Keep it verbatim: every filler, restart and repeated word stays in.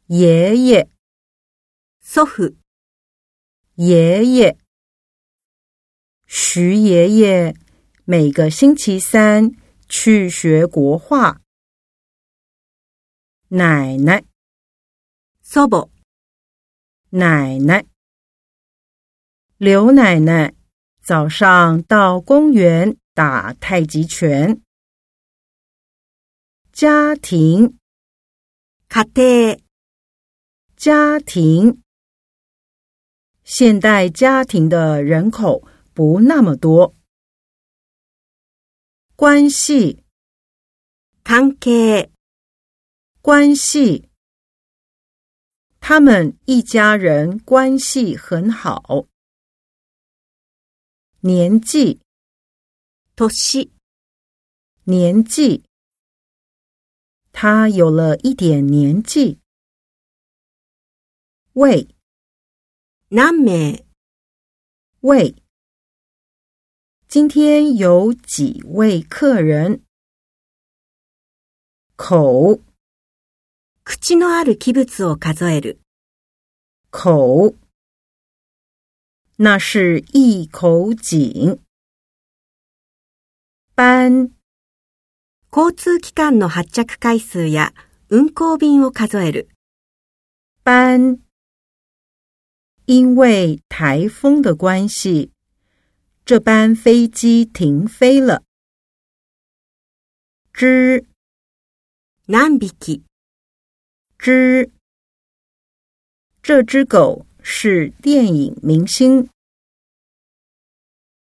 爷爷、 祖父、 爷爷。徐爷爷每个星期三去学国画。奶奶、 祖母、 奶奶。刘奶奶早上到公园打太极拳。家庭、 家庭、 家庭。现代家庭的人口不那么多。关系、 関係、 关系。他们一家人关系很好。年纪、 年、 年纪。他有了一点年纪。位、 何名、 位。今天有几位客人？口、 口のある器物を数える。 口。那是一口井。班、 交通機関の発着回数や運行便を数える。 班。因为台风的关系，这班飞机停飞了。只、 何匹、 只。这只狗是电影明星。